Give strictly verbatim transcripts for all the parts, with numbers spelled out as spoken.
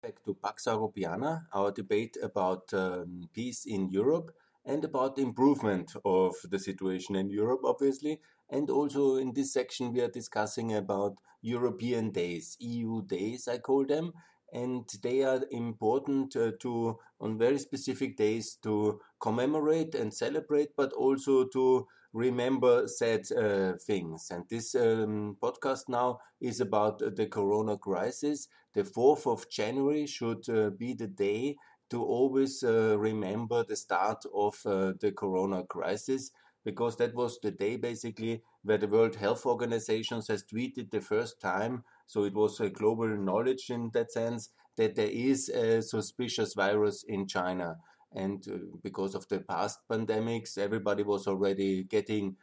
Back to Pax Europiana, our debate about um, peace in Europe and about the improvement of the situation in Europe, obviously. And also in this section, we are discussing about European days, E U days, I call them. And they are important uh, to, on very specific days, to commemorate and celebrate, but also to remember sad uh, things. And this um, podcast now is about the corona crisis. The fourth of January should uh, be the day to always uh, remember the start of uh, the corona crisis, because that was the day basically where the World Health Organization has tweeted the first time. So it was a global knowledge in that sense that there is a suspicious virus in China. And uh, because of the past pandemics, everybody was already getting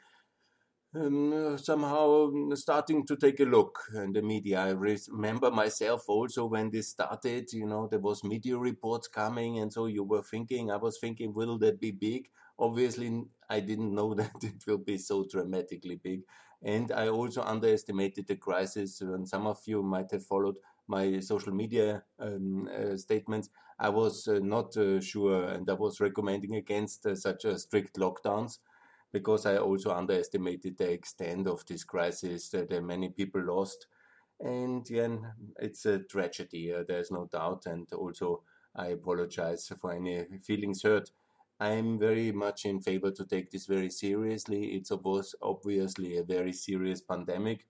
um, somehow starting to take a look in the media. I remember myself also when this started, you know, there was media reports coming, and so you were thinking, I was thinking, will that be big? Obviously, I didn't know that it will be so dramatically big. And I also underestimated the crisis. And some of you might have followed my social media um, uh, statements. I was uh, not uh, sure, and I was recommending against uh, such a strict lockdowns, because I also underestimated the extent of this crisis, that uh, many people lost. And yeah, it's a tragedy, uh, there's no doubt. And also, I apologize for any feelings hurt. I'm very much in favor to take this very seriously. It's obviously a very serious pandemic,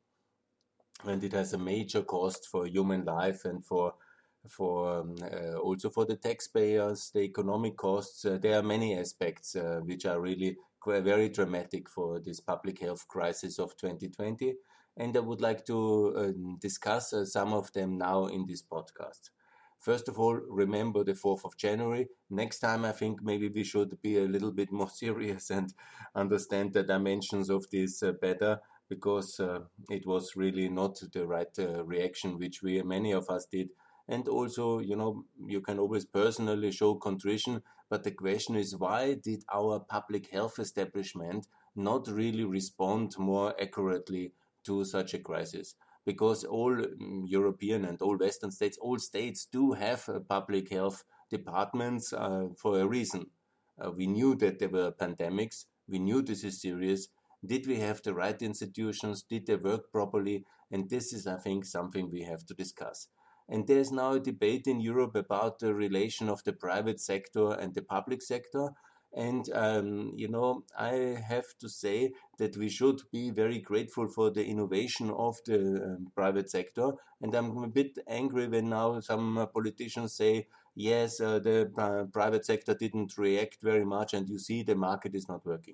and it has a major cost for human life and for for um, uh, also for the taxpayers, the economic costs. Uh, there are many aspects uh, which are really very dramatic for this public health crisis of twenty twenty, and I would like to um, discuss uh, some of them now in this podcast. First of all, remember the fourth of January. Next time, I think maybe we should be a little bit more serious and understand the dimensions of this uh, better, because uh, it was really not the right uh, reaction which we, many of us, did. And also, you know, you can always personally show contrition, but the question is, why did our public health establishment not really respond more accurately to such a crisis? Because all um, European and all Western states, all states do have uh, public health departments uh, for a reason. Uh, we knew that there were pandemics. We knew this is serious. Did we have the right institutions? Did they work properly? And this is, I think, something we have to discuss. And there's now a debate in Europe about the relation of the private sector and the public sector. And, um, you know, I have to say that we should be very grateful for the innovation of the um, private sector. And I'm a bit angry when now some uh, politicians say, yes, uh, the uh, private sector didn't react very much, and you see the market is not working.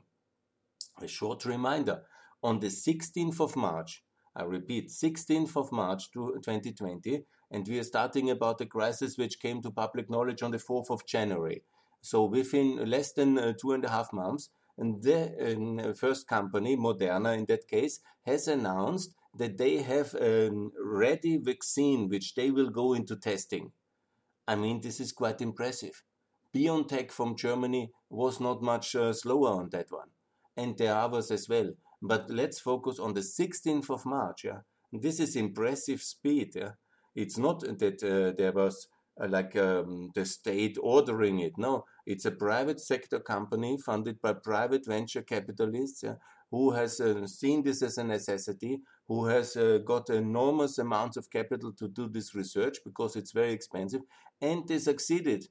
A short reminder, on the sixteenth of March, I repeat, sixteenth of March twenty twenty, and we are starting about the crisis which came to public knowledge on the fourth of January. So within less than uh, two and a half months, and the uh, first company, Moderna in that case, has announced that they have a ready vaccine which they will go into testing. I mean, this is quite impressive. BioNTech from Germany was not much uh, slower on that one. And there are others as well. But let's focus on the sixteenth of March. Yeah? This is impressive speed. Yeah? It's not that uh, there was uh, like um, the state ordering it. No, it's a private sector company funded by private venture capitalists, yeah, who has uh, seen this as a necessity, who has uh, got enormous amounts of capital to do this research because it's very expensive, and they succeeded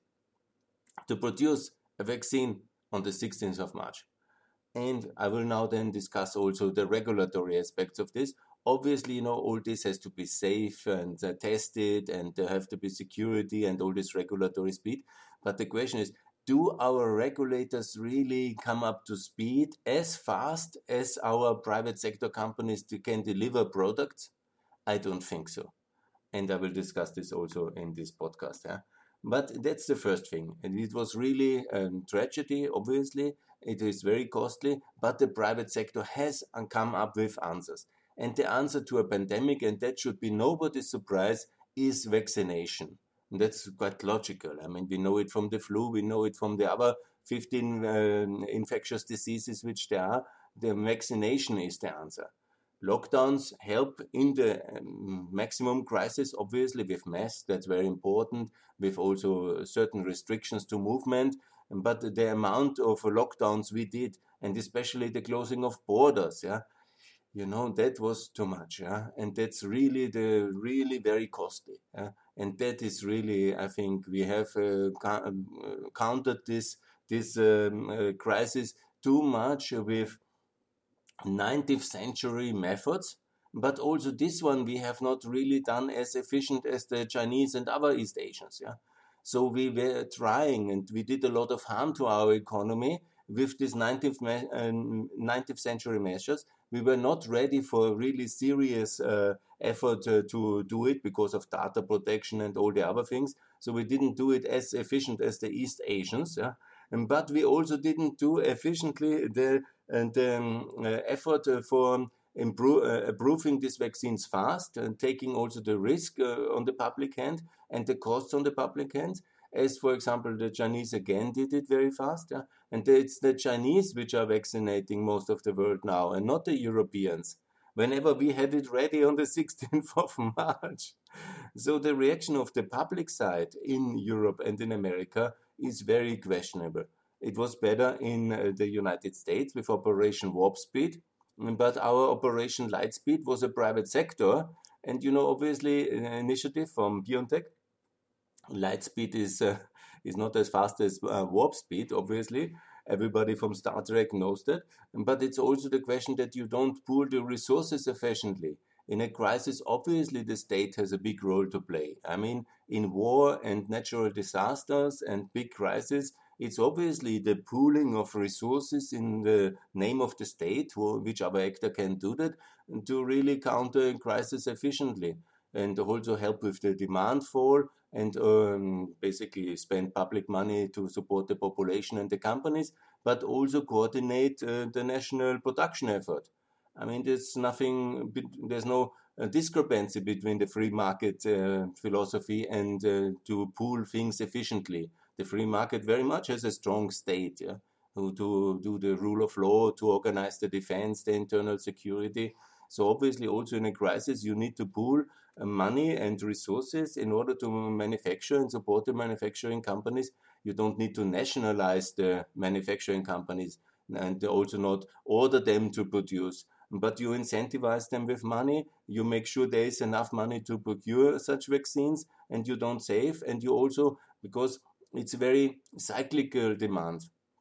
to produce a vaccine on the sixteenth of March. And I will now then discuss also the regulatory aspects of this. Obviously, you know, all this has to be safe and uh, tested, and there have to be security and all this regulatory speed. But the question is, do our regulators really come up to speed as fast as our private sector companies can deliver products? I don't think so. And I will discuss this also in this podcast. Yeah? But that's the first thing. And it was really a tragedy, obviously. It is very costly, but the private sector has come up with answers. And the answer to a pandemic, and that should be nobody's surprise, is vaccination. And that's quite logical. I mean, we know it from the flu, we know it from the other fifteen uh, infectious diseases which there are. The vaccination is the answer. Lockdowns help in the um, maximum crisis, obviously, with masks, that's very important, with also certain restrictions to movement. But the amount of lockdowns we did, and especially the closing of borders, yeah, you know, that was too much, yeah, and that's really the really very costly, yeah? And that is really, I think, we have uh, uh, countered this this um, uh, crisis too much with nineteenth century methods, but also this one we have not really done as efficient as the Chinese and other East Asians. Yeah, so we were trying and we did a lot of harm to our economy with these nineteenth, uh, nineteenth century measures. We were not ready for really serious uh, effort uh, to do it because of data protection and all the other things. So we didn't do it as efficient as the East Asians. Yeah, and, but we also didn't do efficiently the and um, uh, effort uh, for improve, uh, approving these vaccines fast and taking also the risk uh, on the public hand and the costs on the public hand. As, for example, the Chinese again did it very fast. Yeah? And it's the Chinese which are vaccinating most of the world now and not the Europeans. Whenever we had it ready on the sixteenth of March. So the reaction of the public side in Europe and in America is very questionable. It was better in uh, the United States with Operation Warp Speed, but our Operation Lightspeed was a private sector. And, you know, obviously, an initiative from BioNTech. Lightspeed is, uh, is not as fast as uh, Warp Speed, obviously. Everybody from Star Trek knows that. But it's also the question that you don't pool the resources efficiently. In a crisis, obviously, the state has a big role to play. I mean, in war and natural disasters and big crises, it's obviously the pooling of resources in the name of the state, which other actor can do that, to really counter a crisis efficiently and also help with the demand fall and um, basically spend public money to support the population and the companies, but also coordinate uh, the national production effort. I mean, there's nothing, there's no uh, discrepancy between the free market uh, philosophy and uh, to pool things efficiently. The free market very much has a strong state, yeah, who to do the rule of law, to organize the defense, the internal security. So obviously also in a crisis, you need to pool uh, money and resources in order to manufacture and support the manufacturing companies. You don't need to nationalize the manufacturing companies and also not order them to produce, but you incentivize them with money. You make sure there is enough money to procure such vaccines, and you don't save. And you also, because it's a very cyclical demand,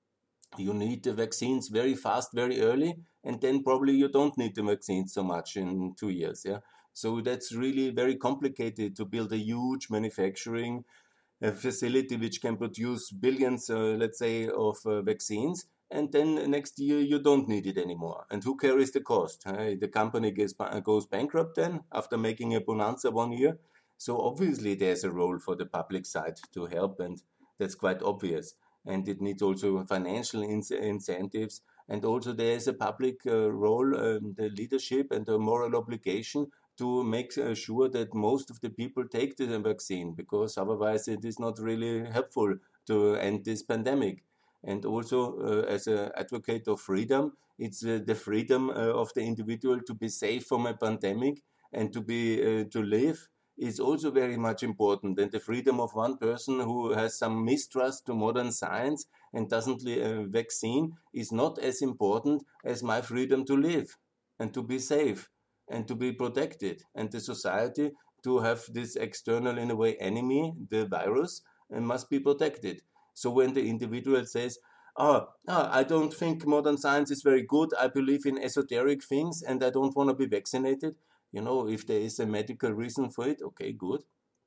you need the vaccines very fast, very early, and then probably you don't need the vaccines so much in two years. Yeah, so that's really very complicated to build a huge manufacturing uh, facility which can produce billions, uh, let's say, of uh, vaccines. And then next year you don't need it anymore. And who carries the cost? Uh, the company gets, goes bankrupt then after making a bonanza one year. So obviously there's a role for the public side to help, and that's quite obvious. And it needs also financial in incentives. And also there is a public uh, role, um, the leadership and the moral obligation to make uh, sure that most of the people take the vaccine, because otherwise it is not really helpful to end this pandemic. And also, uh, as an advocate of freedom, it's uh, the freedom uh, of the individual to be safe from a pandemic and to be uh, to live is also very much important. And the freedom of one person who has some mistrust to modern science and doesn't uh, vaccine is not as important as my freedom to live and to be safe and to be protected, and the society to have this external, in a way, enemy, the virus, and must be protected. So when the individual says, oh, oh, I don't think modern science is very good, I believe in esoteric things and I don't want to be vaccinated, you know, if there is a medical reason for it, okay, good.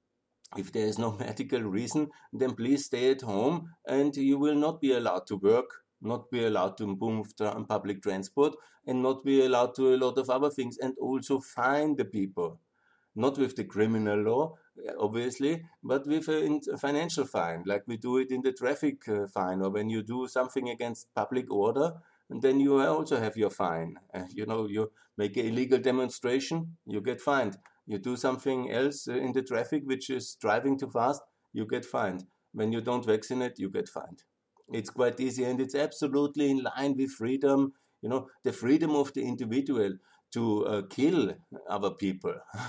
If there is no medical reason, then please stay at home and you will not be allowed to work, not be allowed to move on public transport, and not be allowed to a lot of other things, and also fine the people. Not with the criminal law, obviously, but with a financial fine, like we do it in the traffic uh, fine, or when you do something against public order, and then you also have your fine. Uh, you know, you make an illegal demonstration, you get fined. You do something else uh, in the traffic, which is driving too fast, you get fined. When you don't vaccinate, you get fined. It's quite easy, and it's absolutely in line with freedom, you know, the freedom of the individual to uh, kill other people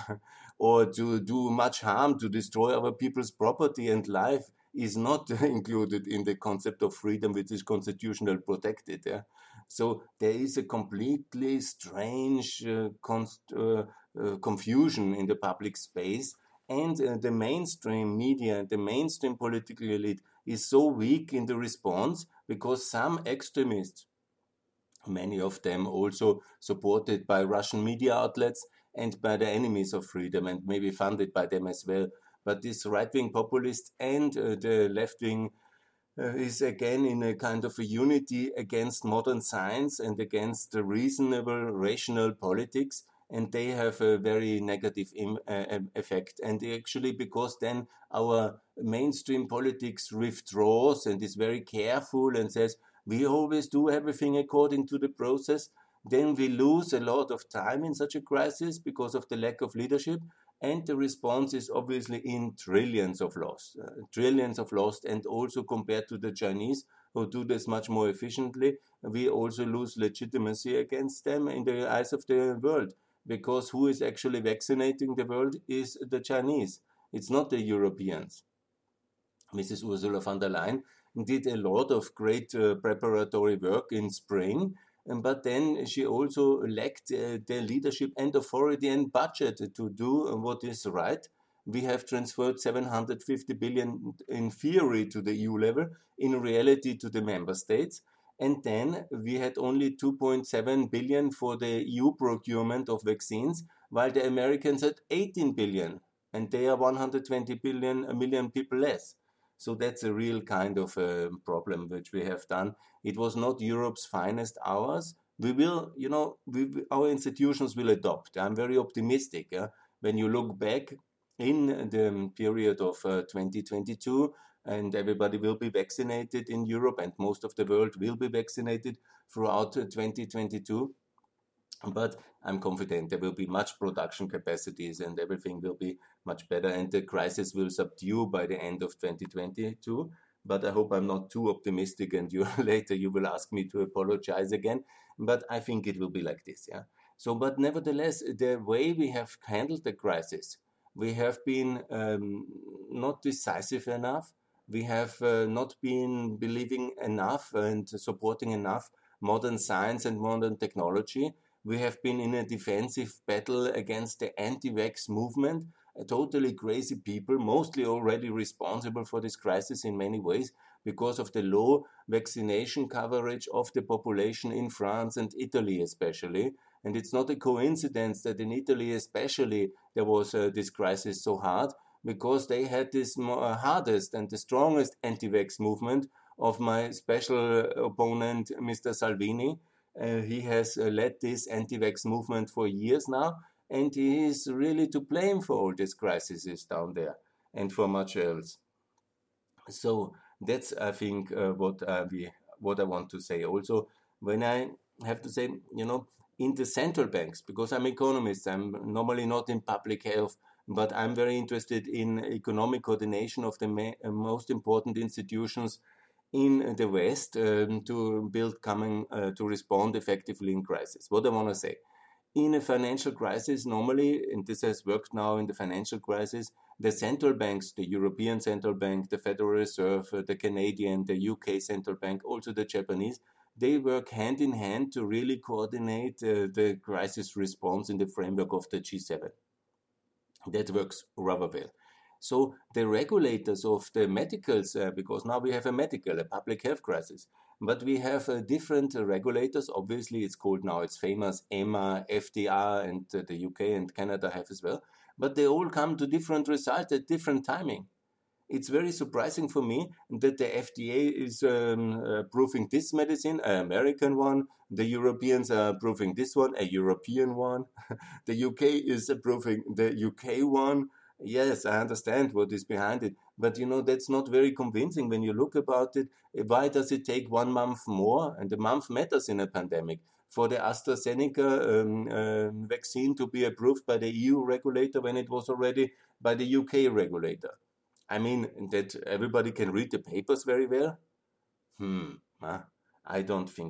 or to do much harm, to destroy other people's property and life is not included in the concept of freedom, which is constitutionally protected. Yeah? So there is a completely strange uh, const, uh, uh, confusion in the public space, and uh, the mainstream media, the mainstream political elite is so weak in the response because some extremists, many of them also supported by Russian media outlets and by the enemies of freedom and maybe funded by them as well. But this right-wing populist and uh, the left-wing uh, is again in a kind of a unity against modern science and against the reasonable, rational politics. And they have a very negative Im- uh, effect. And actually, because then our mainstream politics withdraws and is very careful and says, we always do everything according to the process, then we lose a lot of time in such a crisis because of the lack of leadership. And the response is obviously in trillions of lost, uh, trillions of lost, and also compared to the Chinese who do this much more efficiently, we also lose legitimacy against them in the eyes of the world, because who is actually vaccinating the world is the Chinese. It's not the Europeans. Missus Ursula von der Leyen did a lot of great uh, preparatory work in spring, um, but then she also lacked uh, the leadership and authority and budget to do what is right. We have transferred seven hundred fifty billion in theory to the E U level, in reality to the member states. And then we had only two point seven billion for the E U procurement of vaccines, while the Americans had eighteen billion, and they are one hundred twenty billion, a million people less. So that's a real kind of a problem which we have done. It was not Europe's finest hours. We will, you know, we, our institutions will adopt. I'm very optimistic. Yeah? When you look back in the period of uh, twenty twenty-two, and everybody will be vaccinated in Europe, and most of the world will be vaccinated throughout uh, twenty twenty-two. But I'm confident there will be much production capacities and everything will be much better, and the crisis will subdue by the end of twenty twenty-two. But I hope I'm not too optimistic, and you later you will ask me to apologize again. But I think it will be like this, yeah. So, but nevertheless, the way we have handled the crisis, we have been um, not decisive enough. We have uh, not been believing enough and supporting enough modern science and modern technology. We have been in a defensive battle against the anti-vax movement, totally crazy people, mostly already responsible for this crisis in many ways because of the low vaccination coverage of the population in France and Italy especially. And it's not a coincidence that in Italy especially there was uh, this crisis so hard, because they had this uh, hardest and the strongest anti-vax movement of my special opponent, Mister Salvini. Uh, he has uh, led this anti-vax movement for years now, and he is really to blame for all these crises down there and for much else. So that's, I think, uh, what uh, we what I want to say. Also, when I have to say, you know, in the central banks, because I'm economist, I'm normally not in public health, but I'm very interested in economic coordination of the ma- uh, most important institutions in the West um, to build coming uh, to respond effectively in crisis. What I want to say, in a financial crisis, normally, and this has worked now in the financial crisis, the central banks, the European Central Bank, the Federal Reserve, uh, the Canadian, the U K Central Bank, also the Japanese, they work hand in hand to really coordinate uh, the crisis response in the framework of the G seven. That works rather well. So the regulators of the medicals, uh, because now we have a medical, a public health crisis, but we have uh, different uh, regulators. Obviously, it's called now, it's famous, EMA, F D R, and uh, the U K and Canada have as well. But they all come to different results at different timing. It's very surprising for me that the F D A is um, approving this medicine, an American one. The Europeans are approving this one, a European one. The U K is approving the U K one. Yes, I understand what is behind it, but you know, that's not very convincing when you look about it. Why does it take one month more? And the month matters in a pandemic. For the AstraZeneca um, uh, vaccine to be approved by the E U regulator when it was already by the U K regulator. I mean, that everybody can read the papers very well? Hmm, huh? I don't think so.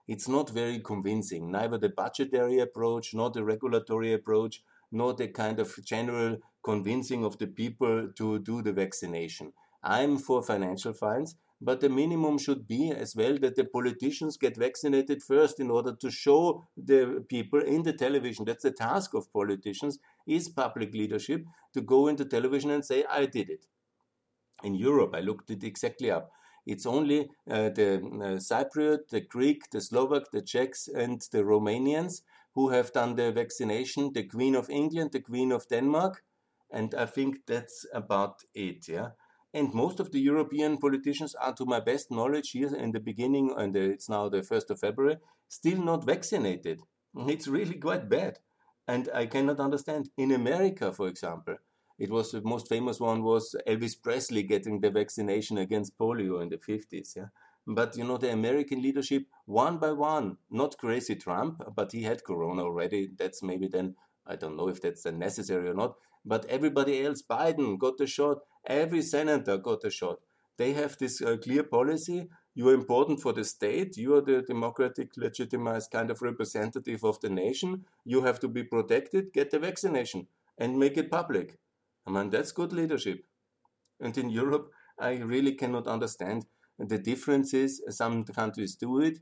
It's not very convincing, neither the budgetary approach, nor the regulatory approach, nor the kind of general convincing of the people to do the vaccination. I'm for financial fines, but the minimum should be as well that the politicians get vaccinated first in order to show the people in the television. That's the task of politicians, is public leadership, to go into television and say, I did it. In Europe, I looked it exactly up. It's only uh, the uh, Cypriot, the Greek, the Slovak, the Czechs, and the Romanians who have done the vaccination, the Queen of England, the Queen of Denmark, and I think that's about it, yeah. And most of the European politicians are, to my best knowledge, here in the beginning, and it's now the first of February, still not vaccinated. It's really quite bad. And I cannot understand. In America, for example, it was the most famous one was Elvis Presley getting the vaccination against polio in the fifties, yeah. But, you know, the American leadership, one by one, not crazy Trump, but he had corona already. That's maybe then, I don't know if that's then necessary or not. But everybody else, Biden got the shot. Every senator got a shot. They have this uh, clear policy. You are important for the state. You are the democratic, legitimized kind of representative of the nation. You have to be protected. Get the vaccination and make it public. I mean, that's good leadership. And in Europe, I really cannot understand the differences. Some countries do it,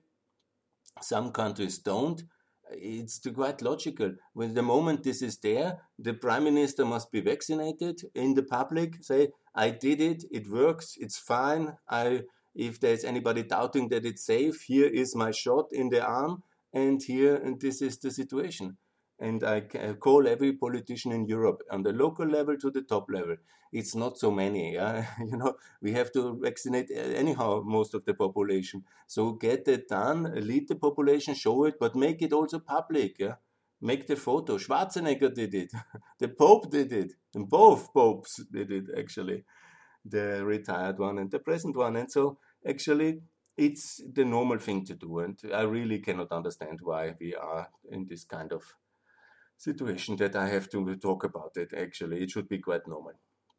some countries don't. It's quite logical. When the moment this is there, the prime minister must be vaccinated in the public, say, I did it, it works, it's fine. I, if there's anybody doubting that it's safe, here is my shot in the arm, and here, and this is the situation. And I call every politician in Europe, on the local level to the top level. It's not so many, yeah? You know, we have to vaccinate anyhow most of the population. So get it done, lead the population, show it, but make it also public, yeah? Make the photo. Schwarzenegger did it. The Pope did it. And both popes did it, actually. The retired one and the present one. And so, actually, it's the normal thing to do. And I really cannot understand why we are in this kind of situation that I have to talk about it. Actually, it should be quite normal.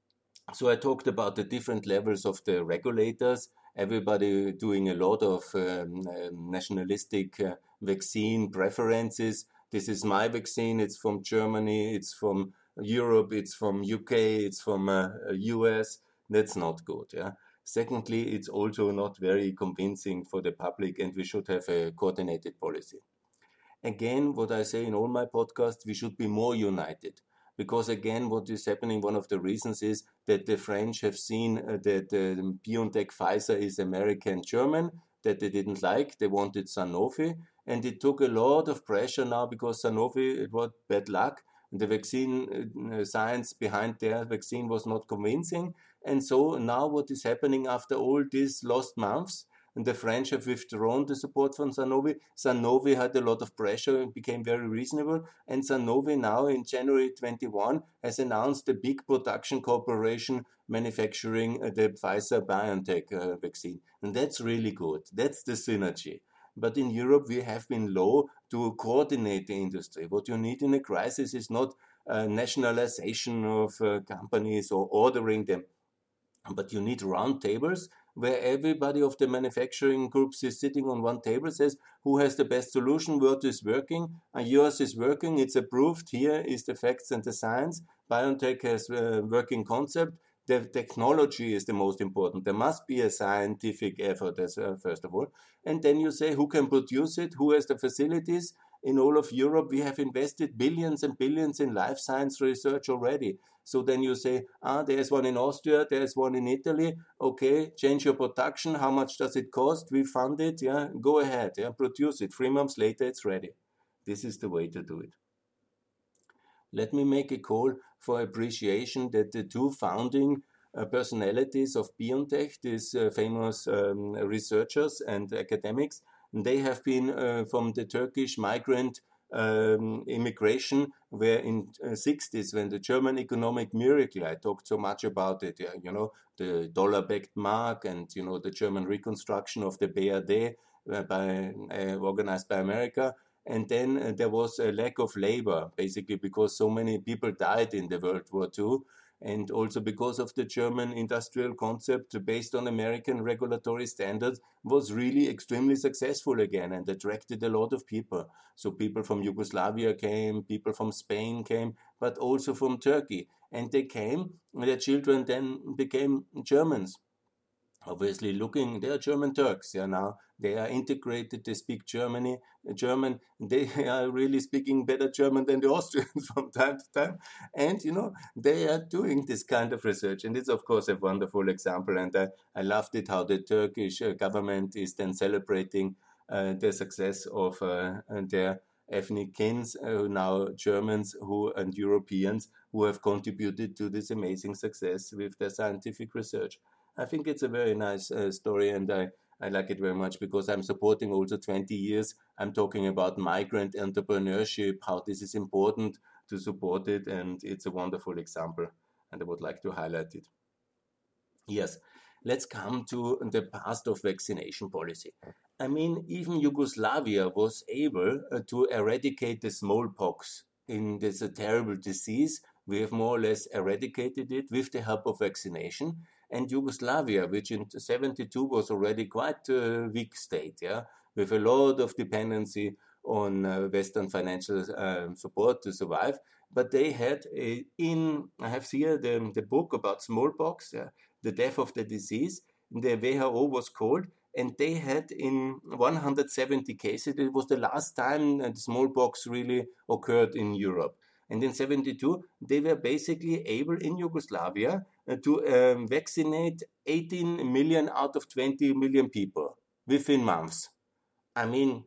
So I talked about the different levels of the regulators, everybody doing a lot of um, um, nationalistic uh, vaccine preferences. This is my vaccine, it's from Germany, it's from Europe, it's from U K, it's from uh, U S. That's not good, yeah. Secondly, it's also not very convincing for the public, and we should have a coordinated policy. Again, what I say in all my podcasts, we should be more united. Because again, what is happening, one of the reasons is that the French have seen uh, that uh, BioNTech Pfizer is American-German, that they didn't like. They wanted Sanofi. And it took a lot of pressure now because Sanofi, it was bad luck. The vaccine uh, science behind their vaccine was not convincing. And so now what is happening after all these lost months, and the French have withdrawn the support from Sanofi. Sanofi had a lot of pressure and became very reasonable. And Sanofi now in January twenty-one has announced a big production corporation manufacturing the Pfizer-BioNTech uh, vaccine. And that's really good. That's the synergy. But in Europe, we have been low to coordinate the industry. What you need in a crisis is not uh, nationalization of uh, companies or ordering them, but you need round tables where everybody of the manufacturing groups is sitting on one table, says who has the best solution, what is working, and yours is working, it's approved, here is the facts and the science, BioNTech has a working concept, the technology is the most important. There must be a scientific effort, as, uh, first of all, and then you say who can produce it, who has the facilities. In all of Europe, we have invested billions and billions in life science research already. So then you say, ah, there's one in Austria, there's one in Italy. Okay, change your production. How much does it cost? We fund it. Yeah, go ahead. Yeah, produce it. Three months later, it's ready. This is the way to do it. Let me make a call for appreciation that the two founding uh, personalities of BioNTech, these uh, famous um, researchers and academics, they have been uh, from the Turkish migrant um, immigration, where in uh, sixties, when the German economic miracle, I talked so much about it, yeah, you know, the dollar-backed mark and, you know, the German reconstruction of the B R D uh, by, uh, organized by America. And then uh, there was a lack of labor, basically because so many people died in the World War Two. and also because of the German industrial concept based on American regulatory standards, was really extremely successful again and attracted a lot of people. So people from Yugoslavia came, people from Spain came, but also from Turkey. And they came, their children then became Germans. Obviously looking, they are German Turks, yeah, now they are integrated, they speak Germany, German, they are really speaking better German than the Austrians from time to time, and, you know, they are doing this kind of research, and it's, of course, a wonderful example, and I, I loved it how the Turkish government is then celebrating uh, the success of uh, their ethnic kins, uh, now Germans who and Europeans who have contributed to this amazing success with their scientific research. I think it's a very nice uh, story, and I, I like it very much because I'm supporting also twenty years. I'm talking about migrant entrepreneurship, how this is important to support it, and it's a wonderful example, and I would like to highlight it. Yes, let's come to the past of vaccination policy. I mean, even Yugoslavia was able uh, to eradicate the smallpox in this uh, terrible disease. We have more or less eradicated it with the help of vaccination. And Yugoslavia, which in seventy-two was already quite a weak state, yeah, with a lot of dependency on uh, Western financial uh, support to survive. But they had a, in, I have here the, the book about smallpox, yeah, the death of the disease, the W H O was called, and they had in one hundred seventy cases, it was the last time that smallpox really occurred in Europe. And in seventy-two, they were basically able in Yugoslavia uh, to um, vaccinate eighteen million out of twenty million people within months. I mean,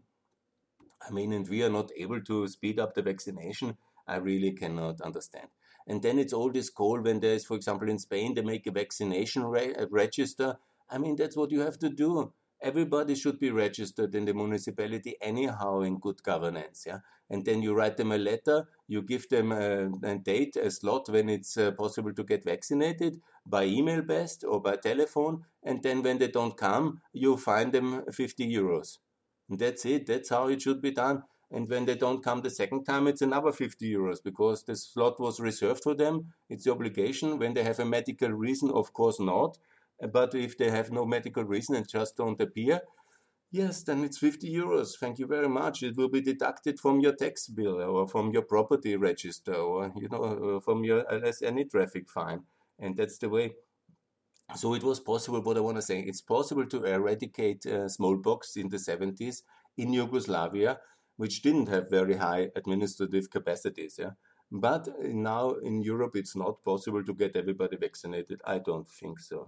I mean, and we are not able to speed up the vaccination. I really cannot understand. And then it's all this call when there is, for example, in Spain, they make a vaccination re- a register. I mean, that's what you have to do. Everybody should be registered in the municipality anyhow in good governance, yeah. And then you write them a letter, you give them a, a date, a slot when it's uh, possible to get vaccinated, by email best or by telephone, and then when they don't come, you fine them fifty euros. And that's it, that's how it should be done. And when they don't come the second time, it's another fifty euros because the slot was reserved for them. It's the obligation. When they have a medical reason, of course not. But if they have no medical reason and just don't appear, yes, then it's fifty euros. Thank you very much. It will be deducted from your tax bill or from your property register or, you know, from your as any traffic fine. And that's the way. So it was possible, what I want to say, it's possible to eradicate uh, smallpox in the seventies in Yugoslavia, which didn't have very high administrative capacities. Yeah? But now in Europe, it's not possible to get everybody vaccinated. I don't think so.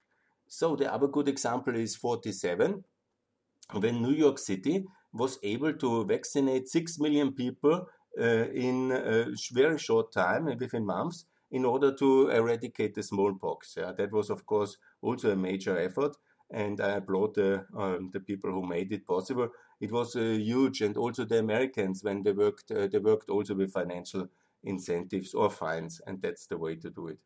So the other good example is forty-seven, when New York City was able to vaccinate six million people uh, in a very short time, within months, in order to eradicate the smallpox. Yeah, that was, of course, also a major effort, and I applaud the, um, the people who made it possible. It was uh, huge, and also the Americans, when they worked, uh, they worked also with financial incentives or fines, and that's the way to do it.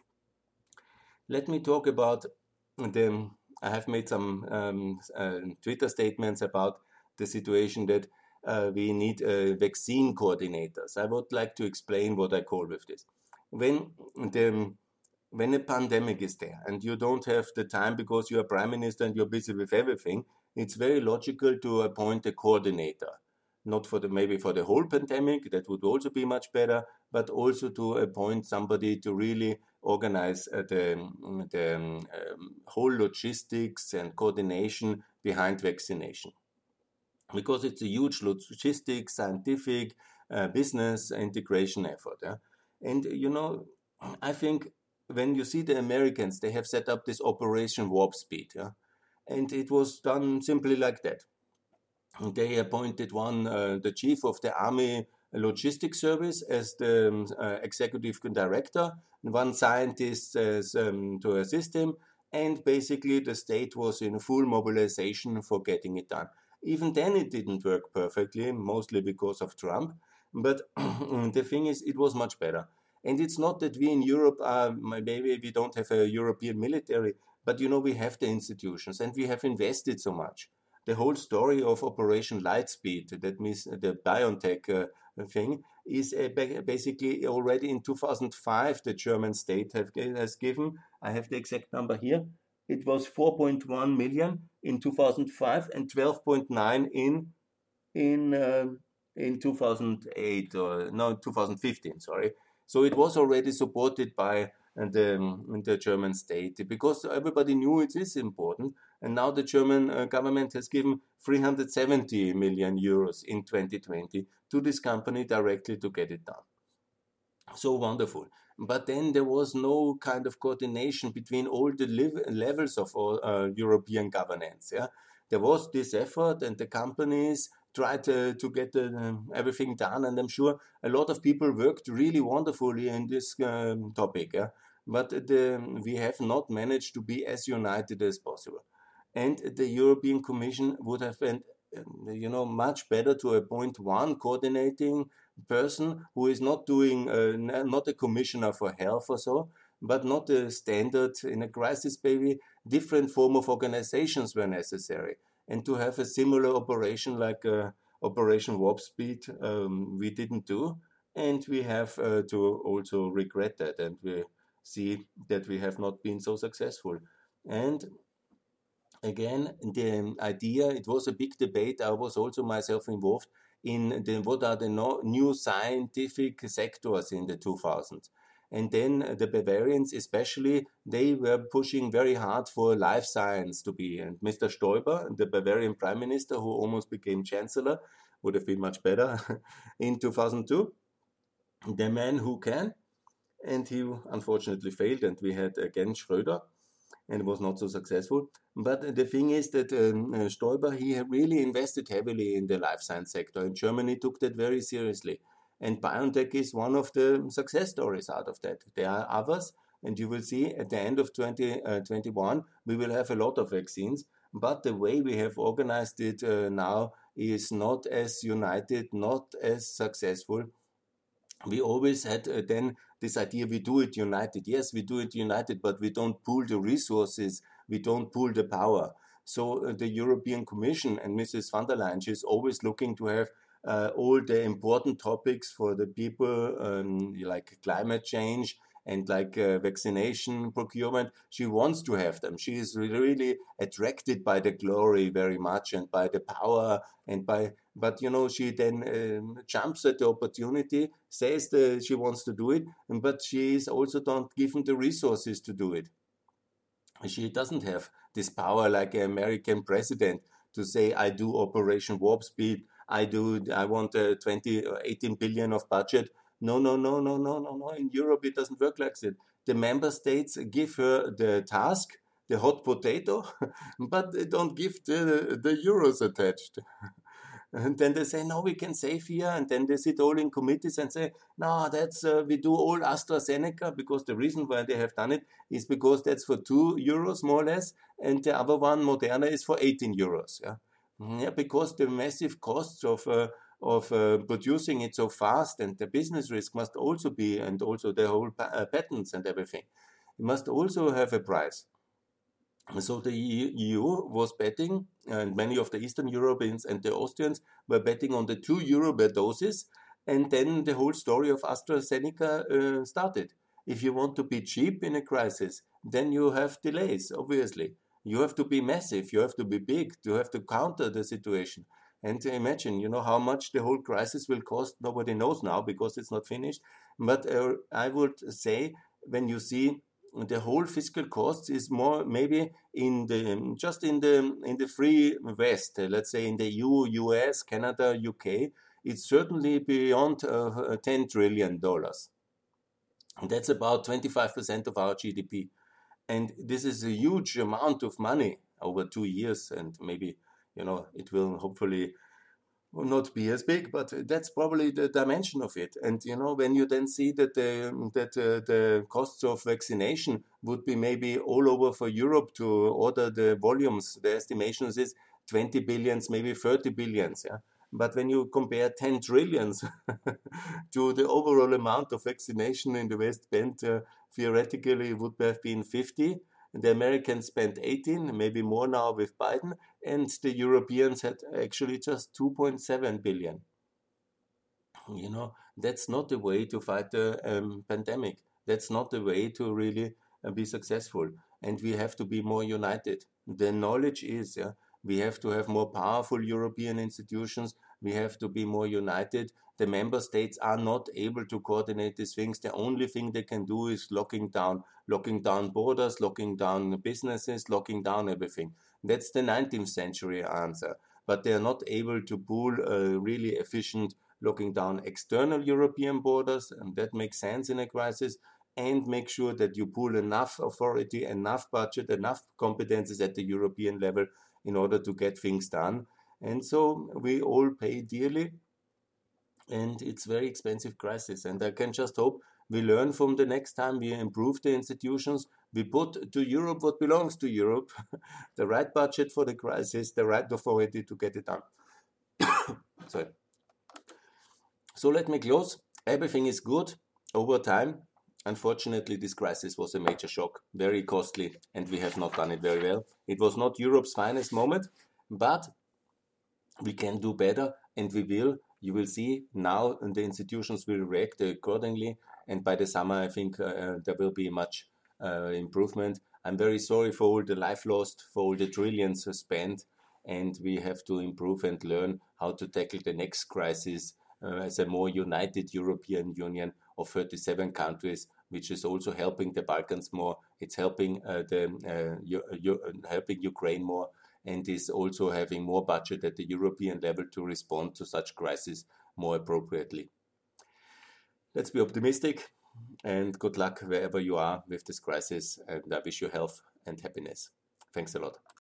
Let me talk about the, I have made some um, uh, Twitter statements about the situation that uh, we need uh, vaccine coordinators. I would like to explain what I call with this. When the when a pandemic is there and you don't have the time because you are prime minister and you're busy with everything, it's very logical to appoint a coordinator. Not for the maybe for the whole pandemic, that would also be much better, but also to appoint somebody to really organize uh, the, the um, whole logistics and coordination behind vaccination. Because it's a huge logistics, scientific, uh, business integration effort. Yeah? And, you know, I think when you see the Americans, they have set up this Operation Warp Speed. Yeah? And it was done simply like that. They appointed one, uh, the chief of the Army Logistics Service as the um, uh, executive director, one scientist as, um, to assist him, and basically the state was in full mobilization for getting it done. Even then it didn't work perfectly, mostly because of Trump, but the thing is, it was much better. And it's not that we in Europe are, maybe we don't have a European military, but you know, we have the institutions and we have invested so much. the whole story of Operation Lightspeed, that means the BioNTech uh, thing, is uh, basically already in two thousand five the German state have, has given, I have the exact number here, it was four point one million in two thousand five and twelve point nine in in uh, in two thousand eight, or no, two thousand fifteen, sorry. So it was already supported by the, the German state, because everybody knew it is important. And now the German uh, government has given three hundred seventy million euros in twenty twenty to this company directly to get it done. So wonderful. But then there was no kind of coordination between all the levels of all, uh, European governance. Yeah, there was this effort, and the companies tried to, to get uh, everything done. And I'm sure a lot of people worked really wonderfully in this um, topic. Yeah, but the, we have not managed to be as united as possible. And the European Commission would have been, you know, much better to appoint one coordinating person who is not doing, uh, not a commissioner for health or so, but not a standard in a crisis. Maybe different form of organizations were necessary, and to have a similar operation like uh, Operation Warp Speed, um, we didn't do, and we have uh, to also regret that, and we see that we have not been so successful. And again, the idea, it was a big debate. I was also myself involved in the, what are the no, new scientific sectors in the two thousands. And then the Bavarians especially, they were pushing very hard for life science to be. And Mister Stoiber, the Bavarian prime minister who almost became chancellor, would have been much better in two thousand two, the man who can. And he unfortunately failed, and we had again Schröder, and was not so successful. But the thing is that um, uh, Stoiber, he really invested heavily in the life science sector, and Germany took that very seriously. And BioNTech is one of the success stories out of that. There are others, and you will see at the end of twenty twenty-one, we will have a lot of vaccines, but the way we have organized it uh, now is not as united, not as successful. We always had uh, then this idea, we do it united. Yes, we do it united, but we don't pool the resources, we don't pool the power. So uh, the European Commission and Missus van der Leyen, she's always looking to have uh, all the important topics for the people, um, like climate change and like uh, vaccination procurement. She wants to have them. She is really attracted by the glory very much, and by the power, and by, but you know, she then um, jumps at the opportunity, says that she wants to do it, but she is also not given the resources to do it. She doesn't have this power like an American president to say, I do Operation Warp Speed, I do, I want a twenty or eighteen billion of budget. No, no, no, no, no, no, no. In Europe, it doesn't work like that. The member states give her the task, the hot potato, but they don't give the, the euros attached. And then they say, no, we can save here. And then they sit all in committees and say, no, that's, uh, we do all AstraZeneca, because the reason why they have done it is because that's for two euros more or less. And the other one, Moderna, is for eighteen euros. Yeah, yeah, because the massive costs of, uh, of uh, producing it so fast, and the business risk must also be, and also the whole pa- uh, patents and everything, it must also have a price. So the E U was betting, and many of the Eastern Europeans and the Austrians were betting on the two euro per doses, and then the whole story of AstraZeneca uh, started. If you want to be cheap in a crisis, then you have delays, obviously. You have to be massive, you have to be big, you have to counter the situation. And imagine, you know, how much the whole crisis will cost, nobody knows now because it's not finished. But uh, I would say, when you see the whole fiscal costs is more maybe in the just in the in the free West, let's say in the E U, U S, Canada, U K, it's certainly beyond uh, ten trillion dollars. That's about twenty-five percent of our G D P, and this is a huge amount of money over two years, and maybe, you know, it will hopefully will not be as big, but that's probably the dimension of it. And you know, when you then see that the that uh, the costs of vaccination would be maybe all over for Europe to order the volumes, the estimations is twenty billions, maybe thirty billions. Yeah. But when you compare ten trillions to the overall amount of vaccination in the West Bend, uh, theoretically it would have been fifty The Americans spent eighteen, maybe more now with Biden, and the Europeans had actually just two point seven billion. You know, that's not the way to fight the um, pandemic. That's not the way to really uh, be successful. And we have to be more united. The knowledge is, yeah, we have to have more powerful European institutions. We have to be more united. The member states are not able to coordinate these things. The only thing they can do is locking down, locking down borders, locking down businesses, locking down everything. That's the nineteenth century answer. But they are not able to pool a really efficient locking down external European borders, and that makes sense in a crisis, and make sure that you pool enough authority, enough budget, enough competences at the European level in order to get things done. And so we all pay dearly, and it's very expensive crisis. And I can just hope we learn from the next time, we improve the institutions, we put to Europe what belongs to Europe, the right budget for the crisis, the right authority to get it done. Sorry. So let me close. Everything is good over time. Unfortunately, this crisis was a major shock, very costly, and we have not done it very well. It was not Europe's finest moment, but we can do better, and we will. You will see now the institutions will react accordingly, and by the summer, I think uh, there will be much uh, improvement. I'm very sorry for all the life lost, for all the trillions spent, and we have to improve and learn how to tackle the next crisis Uh, as a more united European Union of thirty-seven countries, which is also helping the Balkans more. It's helping uh, the uh, uh, helping Ukraine more, and is also having more budget at the European level to respond to such crises more appropriately. Let's be optimistic, and good luck wherever you are with this crisis. And I wish you health and happiness. Thanks a lot.